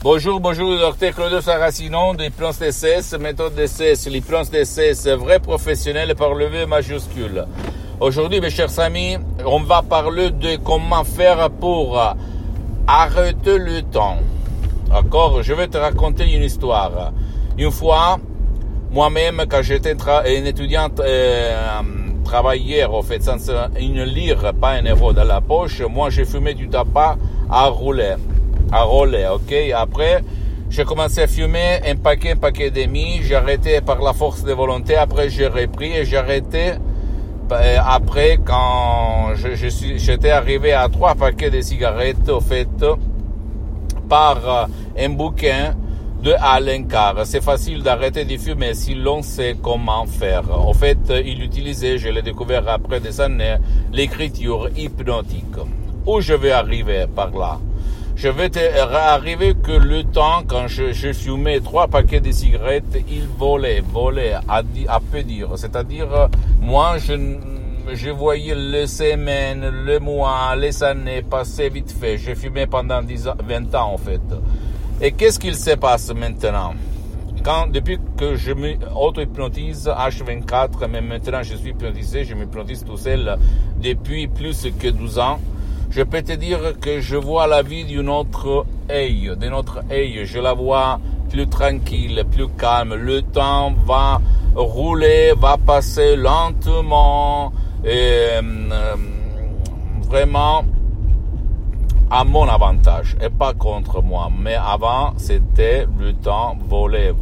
Bonjour, docteur Claudio Saracino de l'hypnose DCS, méthode DCS, l'hypnose DCS, vrai professionnel par le V majuscule. Aujourd'hui, mes chers amis, on va parler de comment faire pour arrêter le temps. D'accord? Je vais te raconter une histoire. Une fois, moi-même, quand j'étais un étudiant travailleur, en fait, sans une lire, pas un euro dans la poche, moi, j'ai fumé du tabac à rouler, ok? Après, j'ai commencé à fumer un paquet et demi, j'ai arrêté par la force de volonté, après j'ai repris et j'ai arrêté après quand j'étais arrivé à 3 paquets de cigarettes, au fait, par un bouquin de Alain Carr. C'est facile d'arrêter de fumer si l'on sait comment faire. En fait, il utilisait, je l'ai découvert après des années, l'écriture hypnotique. Où je vais arriver par là? Je vais arriver que le temps, quand je fumais 3 paquets de cigarettes, il volait, à peu dire. C'est-à-dire, moi, je voyais les semaines, les mois, les années passer vite fait. J'ai fumé pendant 20 ans, en fait. Et qu'est-ce qu'il se passe maintenant? Depuis que je me auto-hypnotise H24, mais maintenant je suis hypnotisé, je m'hypnotise tout seul depuis plus que 12 ans, je peux te dire que je vois la vie de notre œil. Je la vois plus tranquille, plus calme. Le temps va rouler, va passer lentement, et vraiment à mon avantage et pas contre moi. Mais avant, c'était le temps voler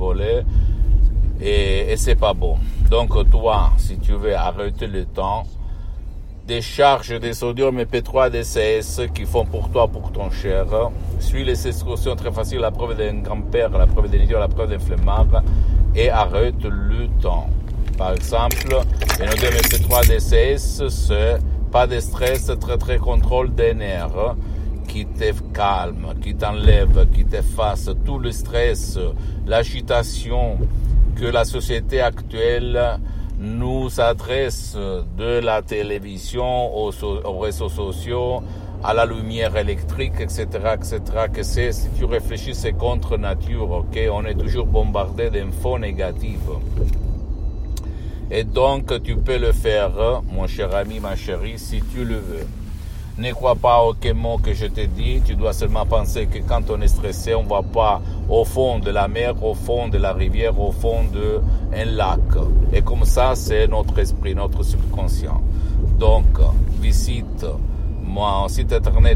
et c'est pas bon. Donc toi, si tu veux arrêter le temps, décharge des sodium MP3 DCS qui font pour toi, pour ton cher. Suis les instructions très faciles, la preuve d'un grand-père, la preuve d'un idiot, la preuve d'un flemmard et arrête le temps. Par exemple, le sodium MP3 DCS, c'est pas de stress, très contrôle des nerfs qui te calme, qui t'enlève, qui t'efface tout le stress, l'agitation que la société actuelle nous adresse de la télévision aux réseaux sociaux, à la lumière électrique, etc., que c'est, si tu réfléchis, c'est contre nature, ok? On est toujours bombardé d'infos négatives. Et donc, tu peux le faire, mon cher ami, ma chérie, si tu le veux. Ne crois pas aucun mot que je te dis, tu dois seulement penser que quand on est stressé, on ne va pas au fond de la mer, au fond de la rivière, au fond d'un lac. Et comme ça, c'est notre esprit, notre subconscient. Donc, visite mon site internet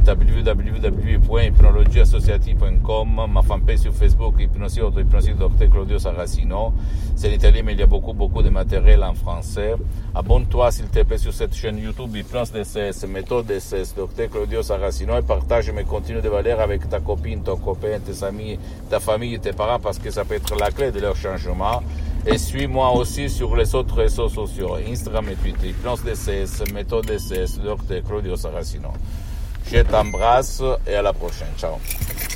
www.hypnologieassociative.com, ma fanpage sur Facebook, Hypnosie Dr Claudio Saracino. C'est l'italien, mais il y a beaucoup de matériel en français. Abonne-toi, s'il te plaît, sur cette chaîne YouTube, Hypnose DCS, méthode DCS, Dr Claudio Saracino, et partage mes contenus de valeur avec ta copine, ton copain, tes amis, ta famille, tes parents, parce que ça peut être la clé de leur changement. Et suis-moi aussi sur les autres réseaux sociaux, Instagram et Twitter, Hypnose DCS, méthode DCS, Dr Claudio Saracino. Je t'embrasse et à la prochaine. Ciao.